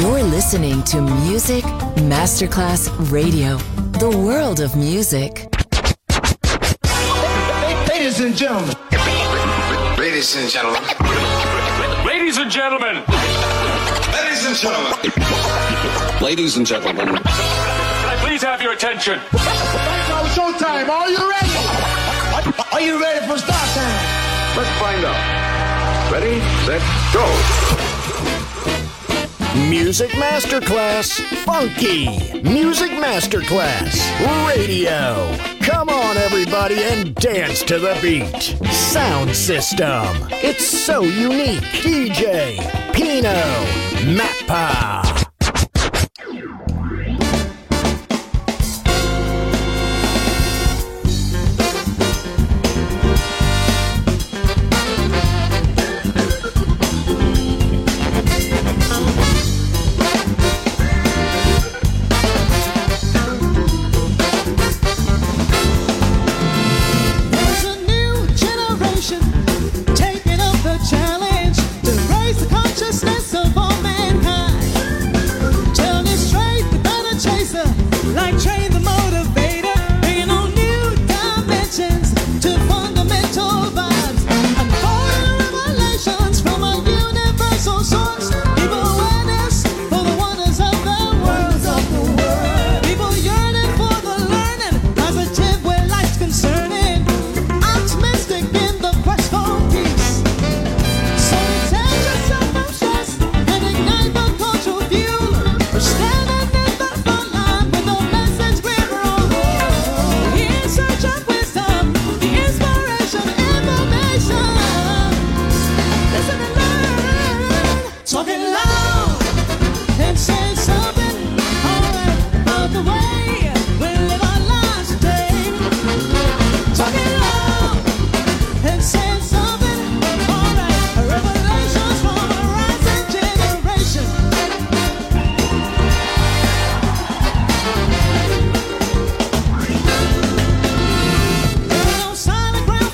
You're listening to Music Masterclass Radio, the world of music. Ladies and gentlemen. Ladies and gentlemen. Ladies and gentlemen. Ladies and gentlemen. Ladies and gentlemen. Can I please have your attention? Now showtime. Are you ready? Are you ready for start time? Let's find out. Ready, set, go. Music Masterclass Funky. Music Masterclass Radio. Come on, everybody, and dance to the beat. Sound system. It's so unique. DJ Pino Mappa.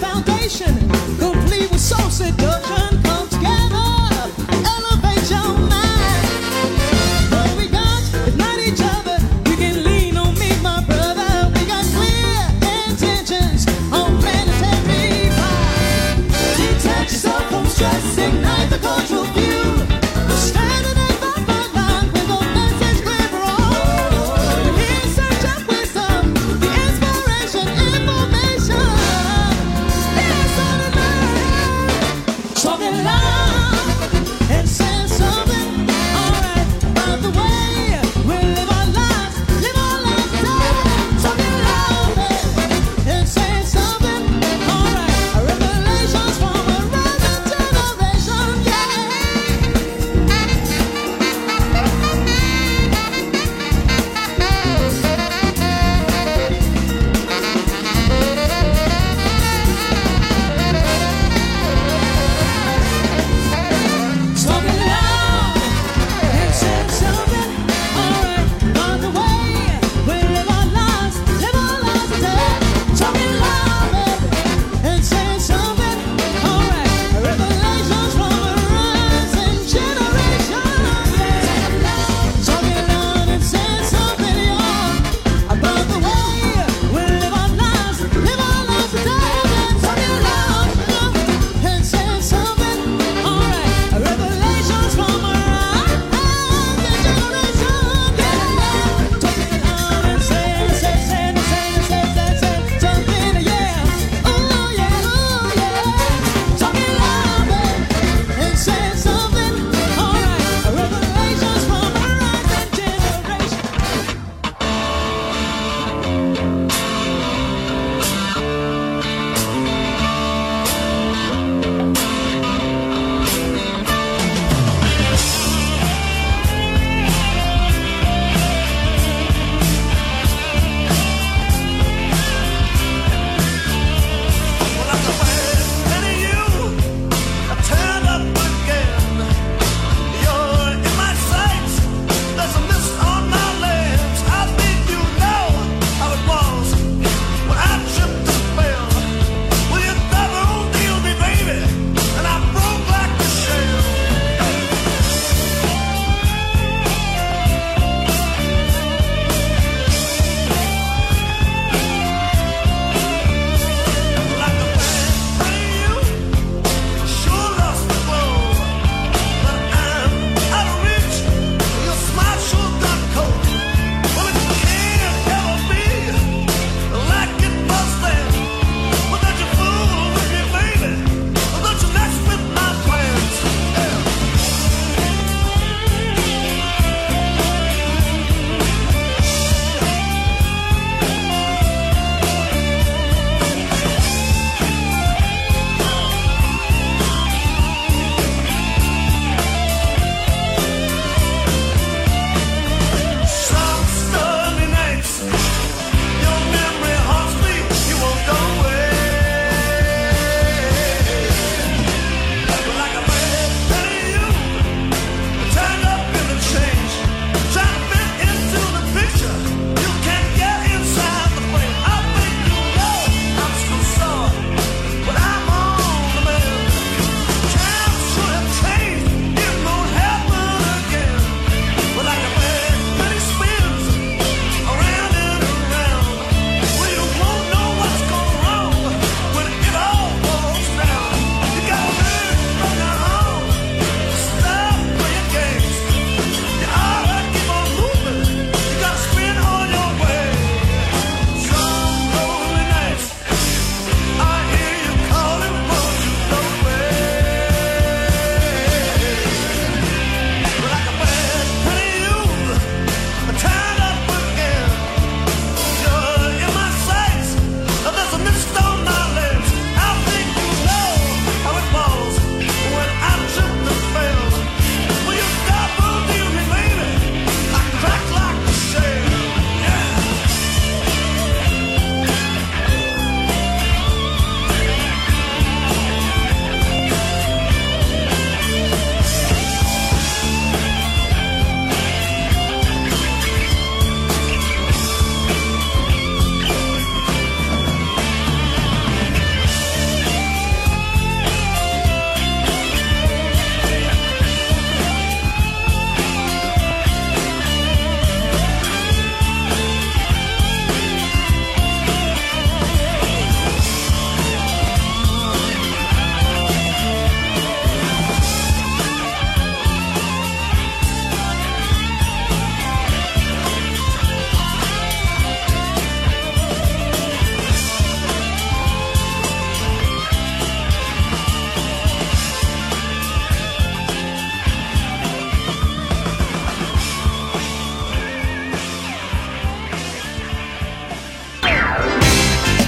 Complete with soul seduction, come together, elevate your mind.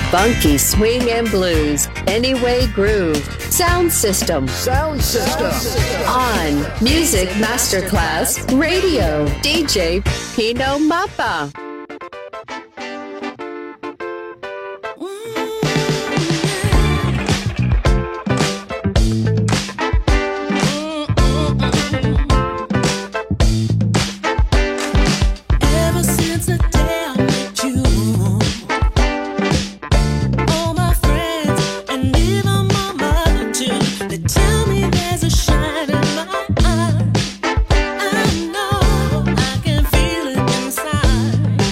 Funky swing and blues, Anyway Groove, Sound System. Sound System. On Music Masterclass Radio, DJ Pino Mappa. I know I can feel it inside.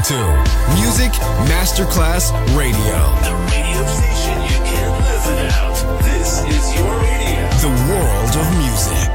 to Music Masterclass Radio. The radio station you can't live without. This is your radio. The world of music.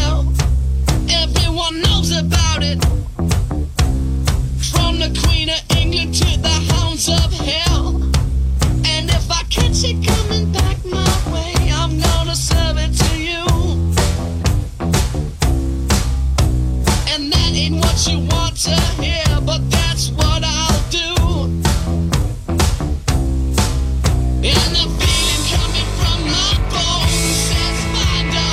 hell. Everyone knows about it. From the Queen of England to the hounds of hell. And if I catch it coming back my way, I'm gonna serve it to you. And that ain't what you want to hear, but that's what I'll do. And the feeling coming from my bones says find a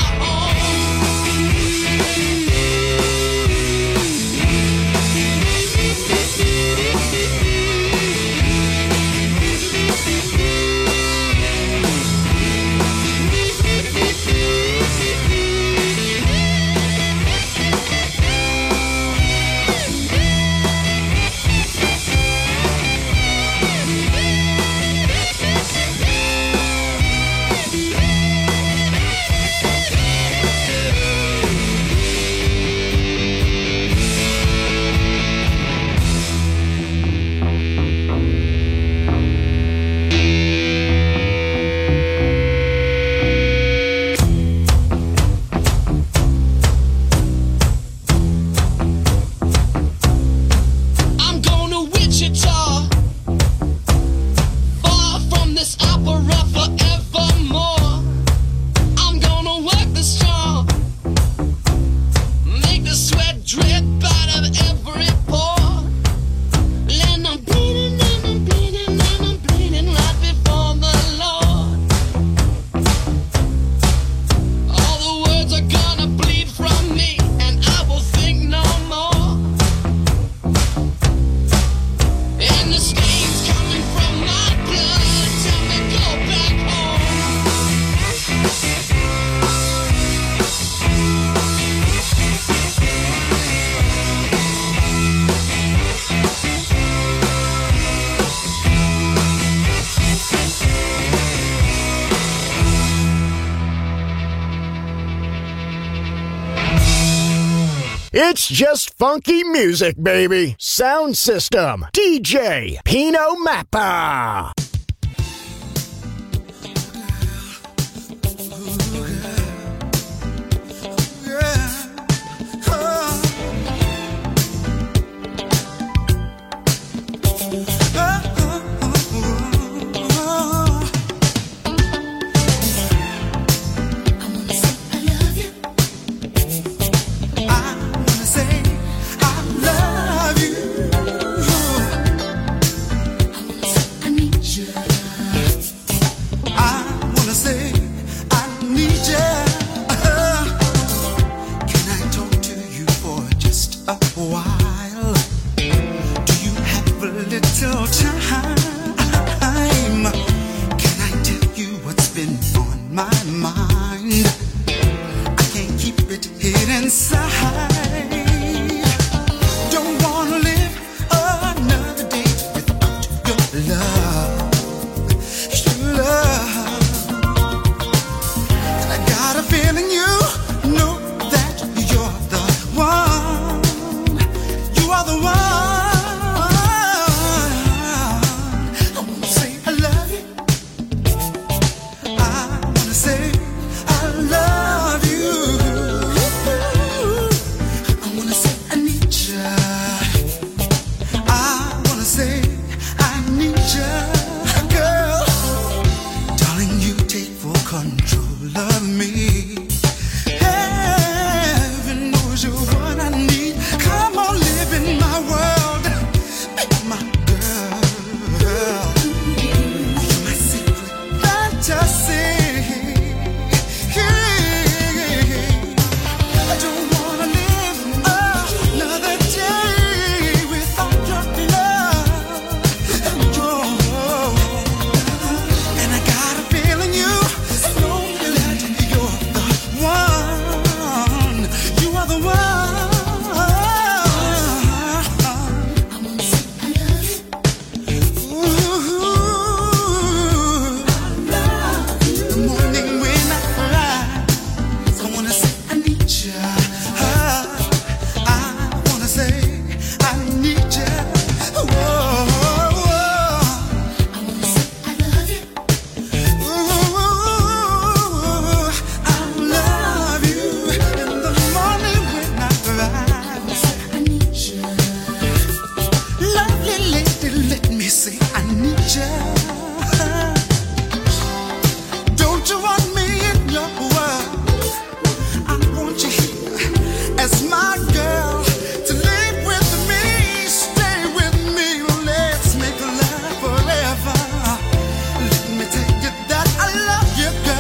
It's just funky music, baby. Sound System, DJ Pino Mappa. I need you. want you here as my girl to live with me, stay with me, let's make love forever. Let me tell you that I love you, girl.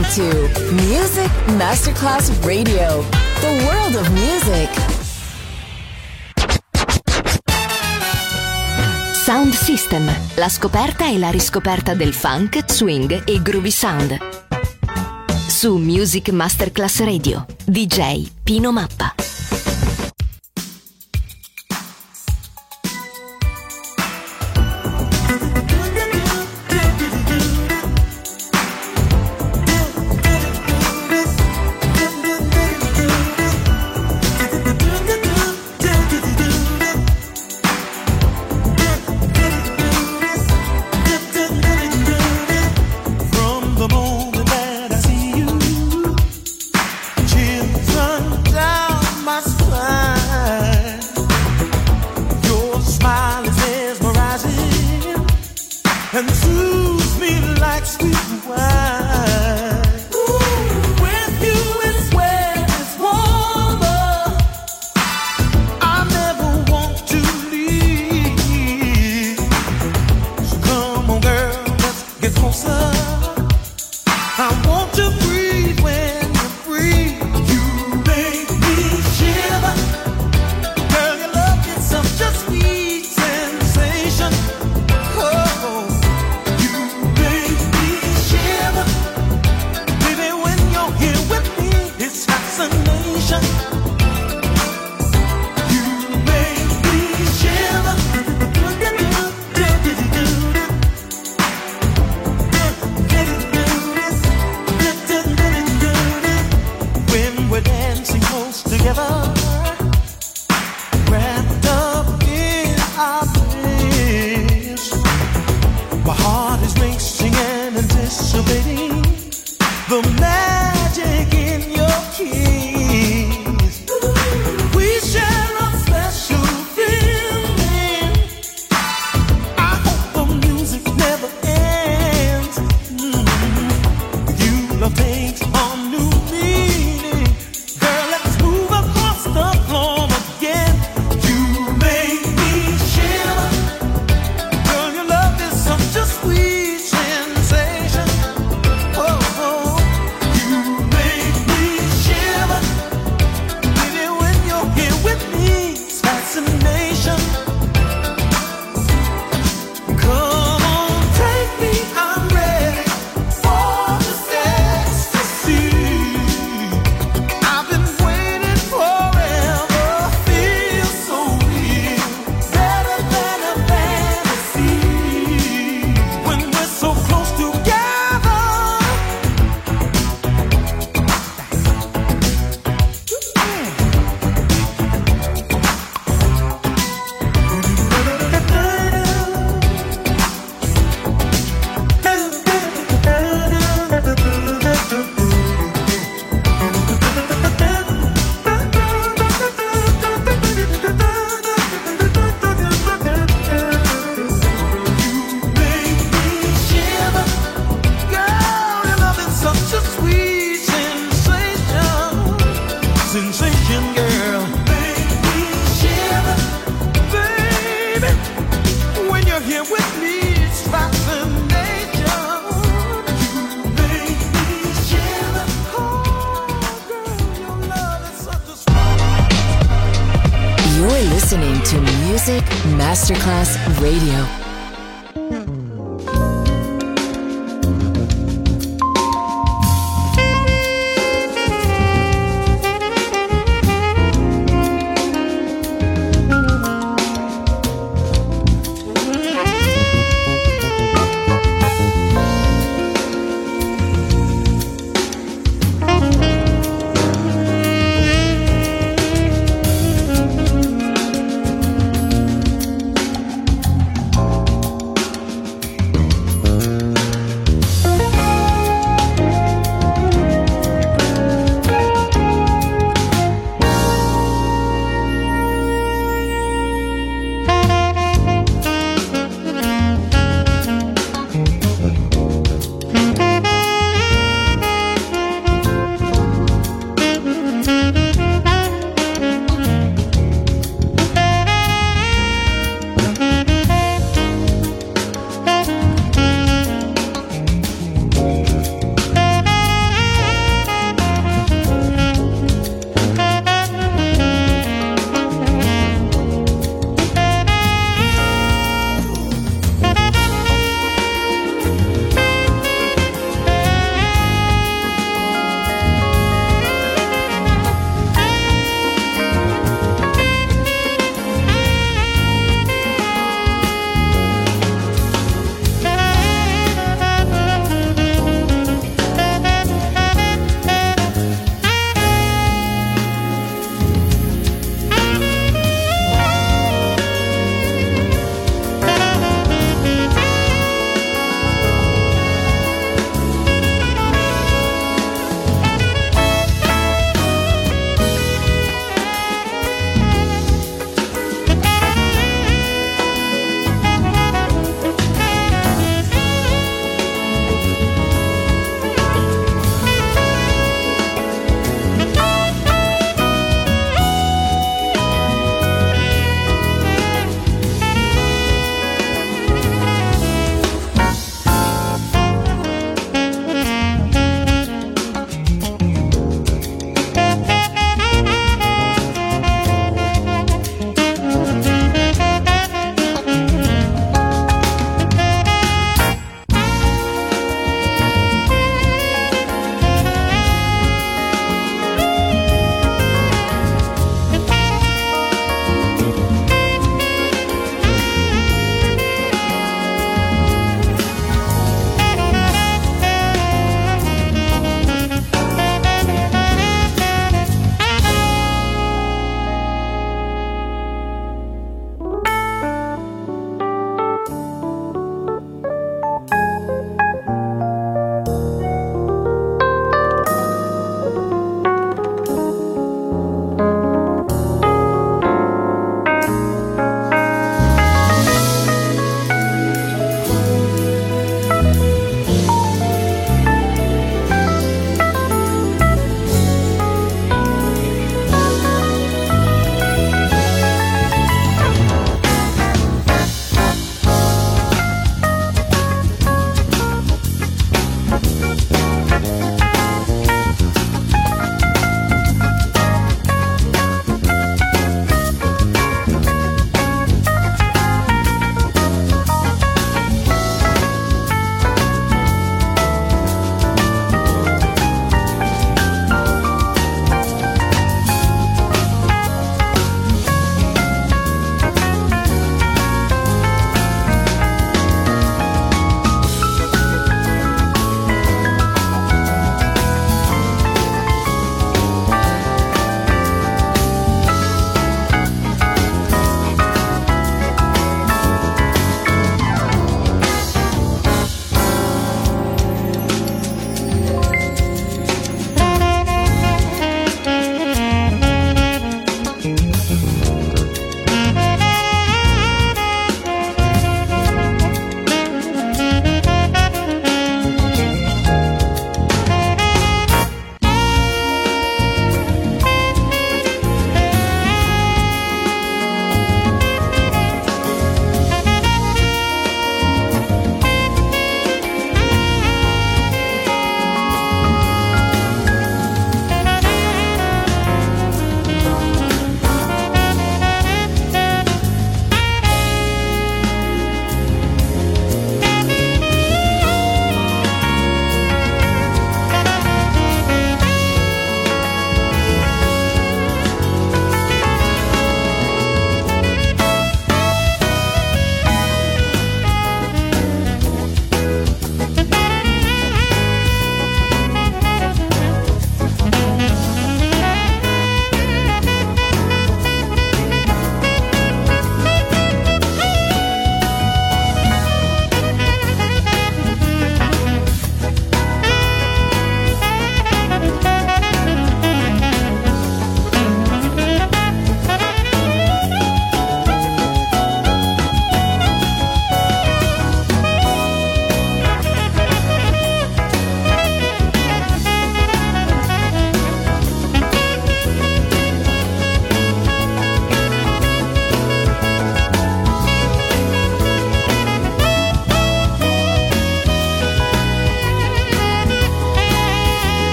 listening to Music Masterclass Radio, the world of music. Sound System, la scoperta e la riscoperta del funk, swing e groovy sound. Su Music Masterclass Radio, DJ Pino Mappa. Music Masterclass Radio.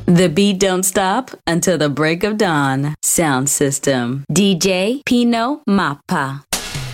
The beat don't stop until the break of dawn. Sound system. DJ Pino Mappa.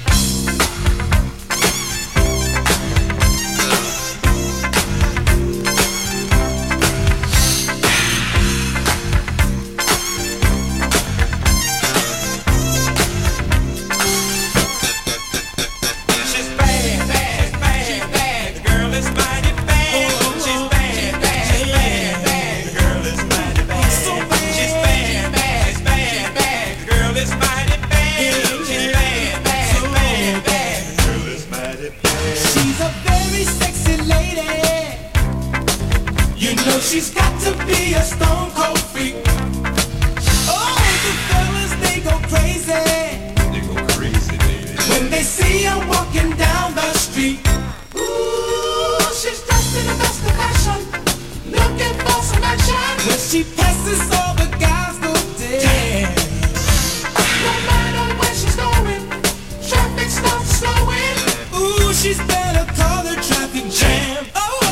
She's got to be a stone cold freak. Oh, the fellas, they go crazy. They go crazy, baby. When they see her walking down the street. Ooh, she's dressed in the best of fashion, looking for some action. When she passes, all the guys go dead. No matter where she's going, traffic stops slowing. Ooh, she's better call the traffic jam.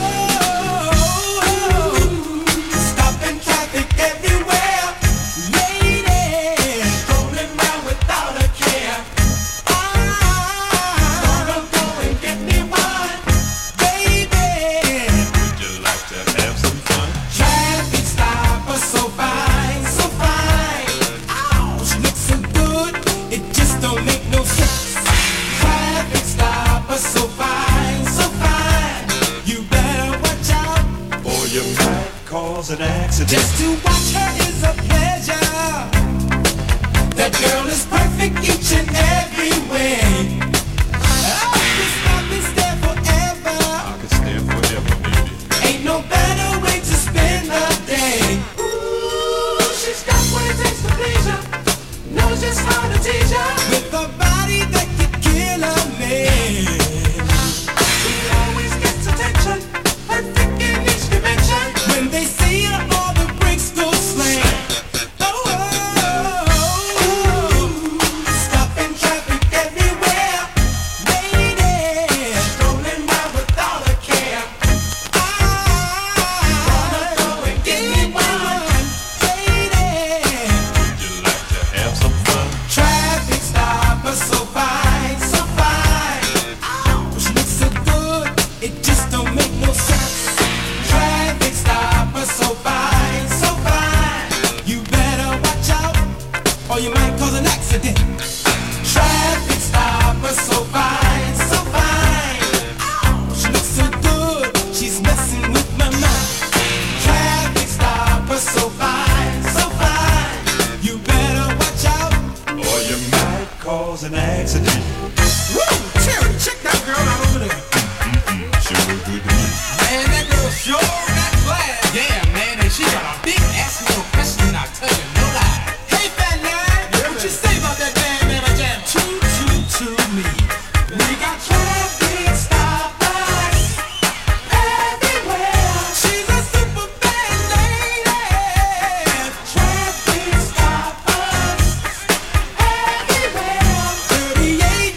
An accident. Just to watch her is a pleasure. That girl is perfect each and every way. I could stop and stare forever. I could stare forever, baby. Ain't no better way to spend the day. Ooh, she's got what it takes to please ya. Knows just how to tease ya. With a body that could kill a man. She always gets attention. Perfect in each dimension. When they see her, all the brakes go slam. Oh, oh, oh, oh. Stopping traffic everywhere. Ladies strolling by without a care. I wanna go and get me one. Ladies, would you like to have some fun? traffic stopper so fine, so fine. Ow, she looks so good, it just don't make no sense. Traffic stopper so fine, so fine. You better watch out, or you might cause an accident. Traffic stopper so fine, so fine. Ow, she looks so good, she's messing with my mind. Traffic stopper so fine, so fine. You better watch out, Or you might cause an accident. woo! Terry, check that girl out over there. Sure look good to me. Man, that girl sure got class. Yeah, man, and she got a big ass little question, I'll tell you, no lie. Hey, fat man, what you say about that man, jam? To me. We got traffic stoppers everywhere. She's a super bad lady. Traffic stoppers everywhere. 38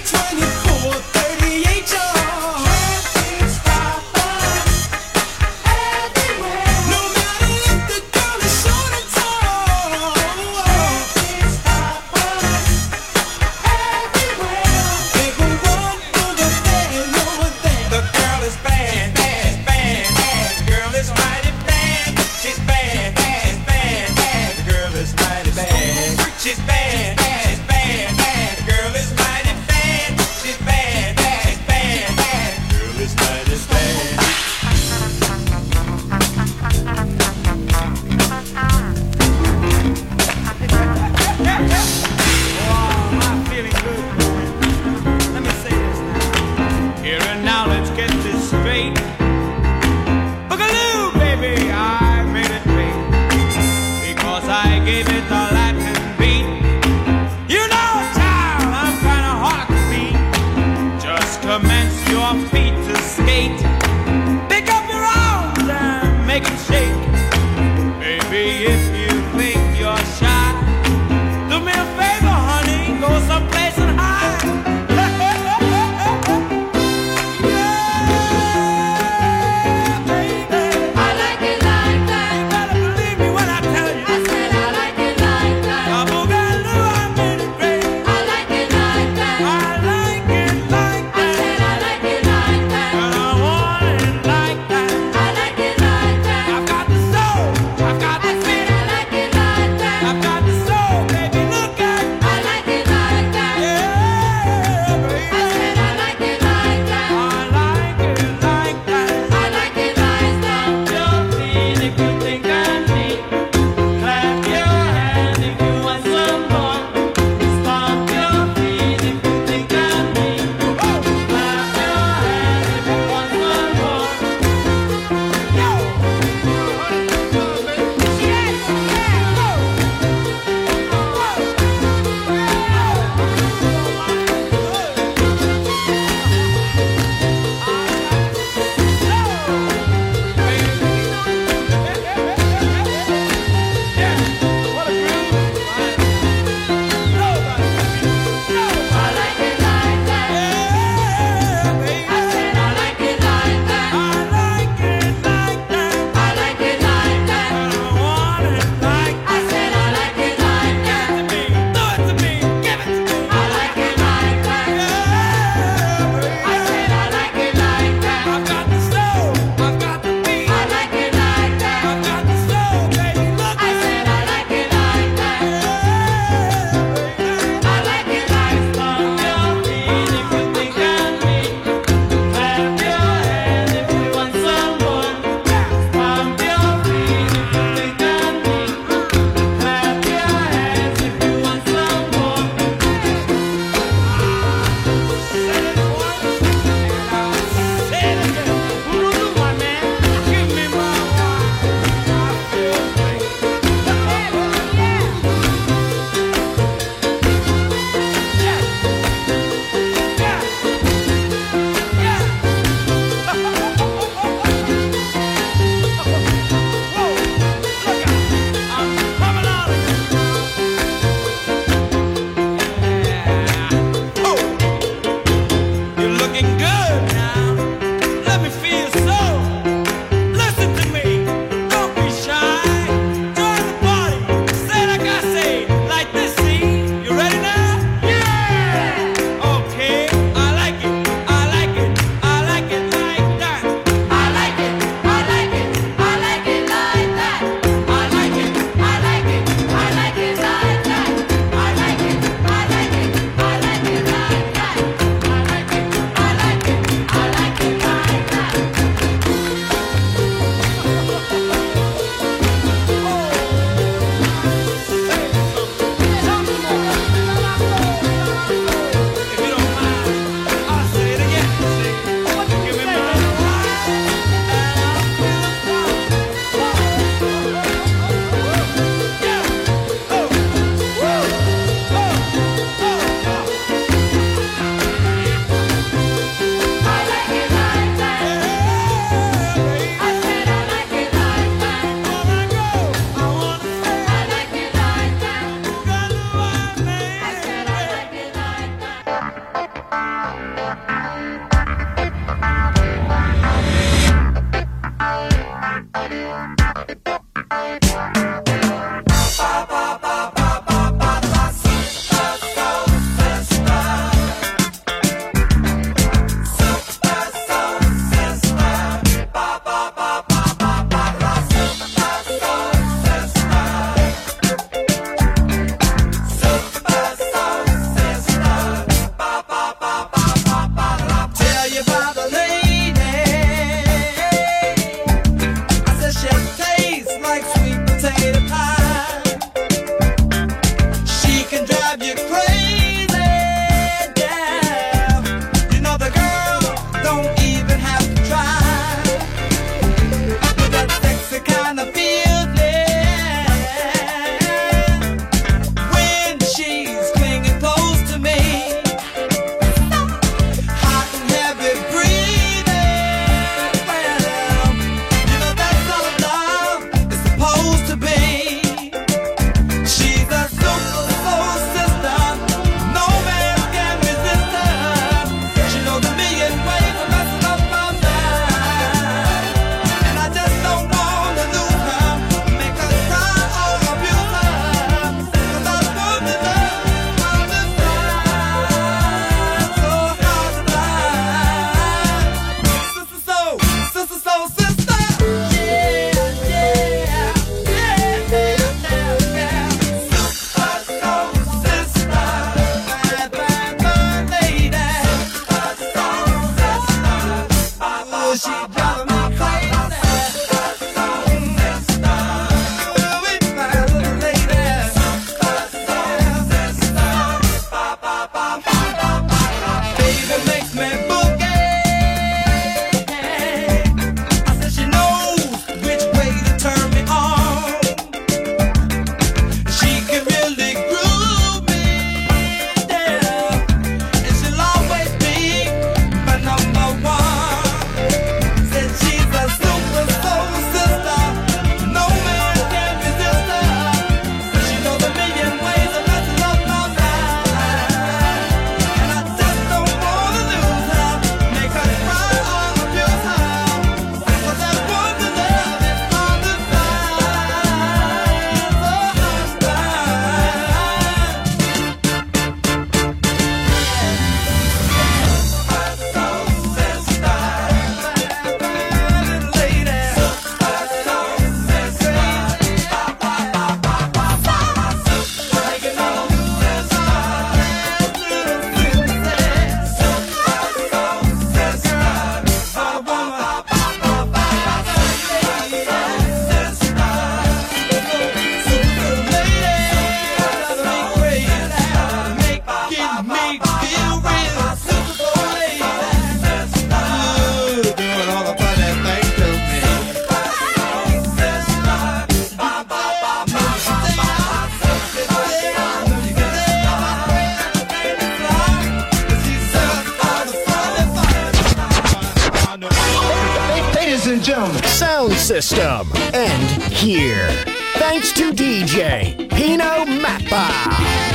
gentlemen. Sound system. And here. Thanks to DJ Pino Mappa.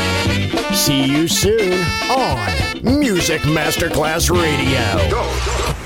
See you soon on Music Masterclass Radio. Go.